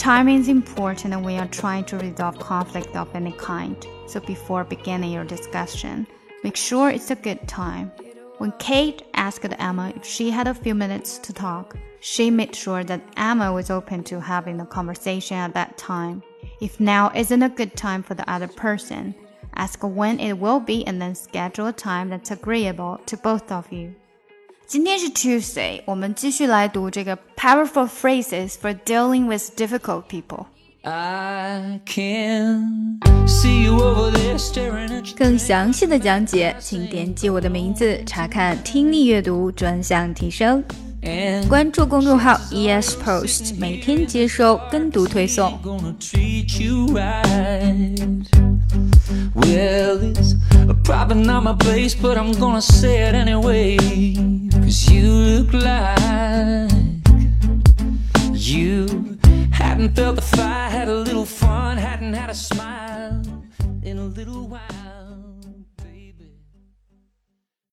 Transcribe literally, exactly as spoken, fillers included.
Timing is important when you're trying to resolve conflict of any kind. So before beginning your discussion, make sure it's a good time. When Kate asked Emma if she had a few minutes to talk, she made sure that Emma was open to having a conversation at that time. If now isn't a good time for the other person, ask when it will be and then schedule a time that's agreeable to both of you. 今天是 Tuesday, 我们继续来读这个 Powerful Phrases for Dealing with Difficult People. I can see you over there staring at you. 更详细的讲解，请点击我的名字查看听力阅读专项提升。关注公众号 E S Post， 每天接收跟读推送。 Well, it's probably not my place, but I'm gonna say it anyway. Cause you look like you.Hadn't felt the fire, had a little fun, hadn't had a smile in a little while.